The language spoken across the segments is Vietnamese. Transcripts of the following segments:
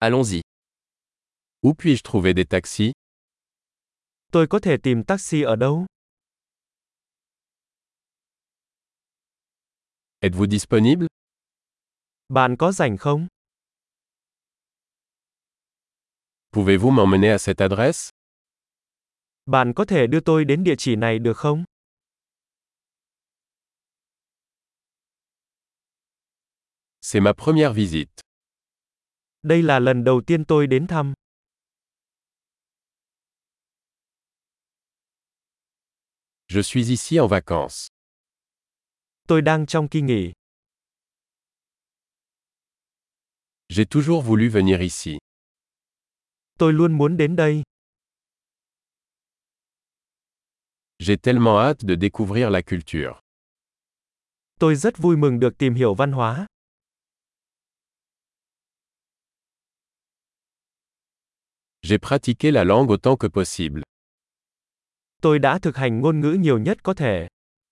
Allons-y. Où puis-je trouver des taxis? Tôi có thể tìm taxi ở đâu? Êtes-vous disponible? Bạn có rảnh không? Pouvez-vous m'emmener à cette adresse? Bạn có thể đưa tôi đến địa chỉ này được không? C'est ma première visite. Đây là lần đầu tiên tôi đến thăm. Je suis ici en vacances. Tôi đang trong kỳ nghỉ. J'ai toujours voulu venir ici. Tôi luôn muốn đến đây. J'ai tellement hâte de découvrir la culture. Tôi rất vui mừng được tìm hiểu văn hóa. J'ai pratiqué la langue autant que possible. Tôi đã thực hành ngôn ngữ nhiều nhất có thể.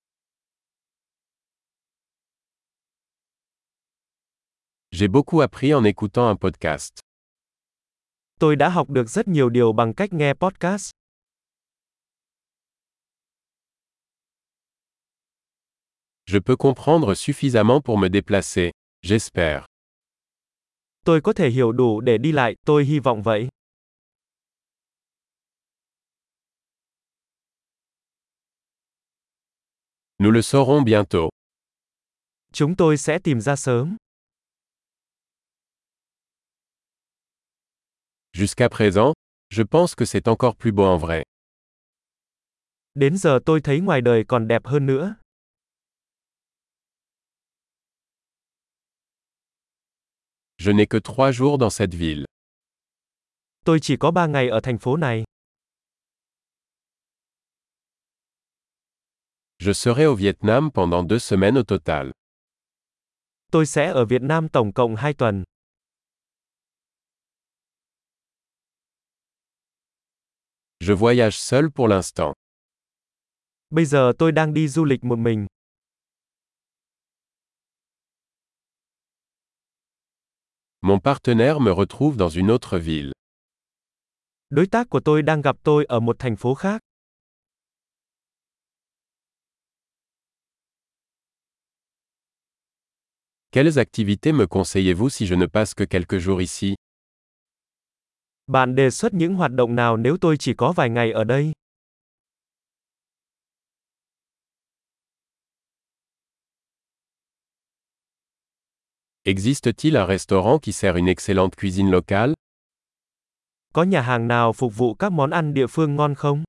J'ai beaucoup appris en écoutant un podcast. Tôi đã học được rất nhiều điều bằng cách nghe podcast. Je peux comprendre suffisamment pour me déplacer, j'espère. Tôi có thể hiểu đủ để đi lại, tôi hy vọng vậy. Nous le saurons bientôt. Chúng tôi sẽ tìm ra sớm. Jusqu'à présent, je pense que c'est encore plus beau en vrai. Đến giờ tôi thấy ngoài đời còn đẹp hơn nữa. Je n'ai que 3 jours dans cette ville. Tôi chỉ có 3 ngày ở thành phố này. Je serai au Vietnam pendant 2 semaines au total. Tôi sẽ ở Việt Nam tổng cộng 2 tuần. Je voyage seul pour l'instant. Bây giờ tôi đang đi du lịch một mình. Mon partenaire me retrouve dans une autre ville. Đối tác của tôi đang gặp tôi ở một thành phố khác. Quelles activités me conseillez-vous si je ne passe que quelques jours ici? Bạn đề xuất những hoạt động nào nếu tôi chỉ có vài ngày ở đây? Existe-t-il un restaurant qui sert une excellente cuisine locale? Có nhà hàng nào phục vụ các món ăn địa phương ngon không?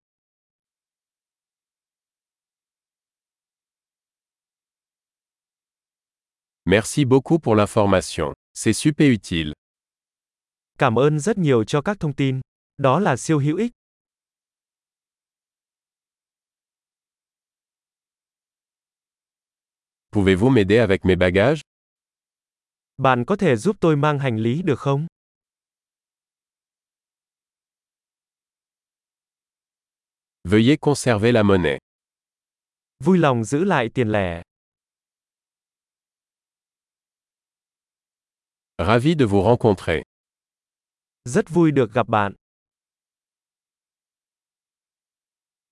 Merci beaucoup pour l'information. C'est super utile. Cảm ơn rất nhiều cho các thông tin. Đó là siêu hữu ích. Pouvez-vous m'aider avec mes bagages? Bạn có thể giúp tôi mang hành lý được không? Veuillez conserver la monnaie. Vui lòng giữ lại tiền lẻ. Ravi de vous rencontrer. Rất vui được gặp bạn.